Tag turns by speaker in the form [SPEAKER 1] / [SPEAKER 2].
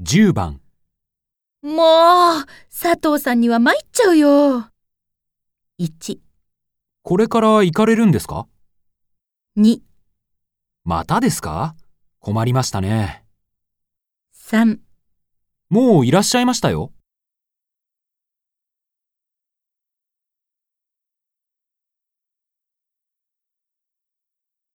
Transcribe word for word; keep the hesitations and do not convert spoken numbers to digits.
[SPEAKER 1] じゅうばん。
[SPEAKER 2] もう、佐藤さんには参っちゃうよ。いち、
[SPEAKER 1] これから行かれるんですか？
[SPEAKER 2] に、
[SPEAKER 1] またですか？困りましたね。
[SPEAKER 2] さん。
[SPEAKER 1] もういらっしゃいましたよ。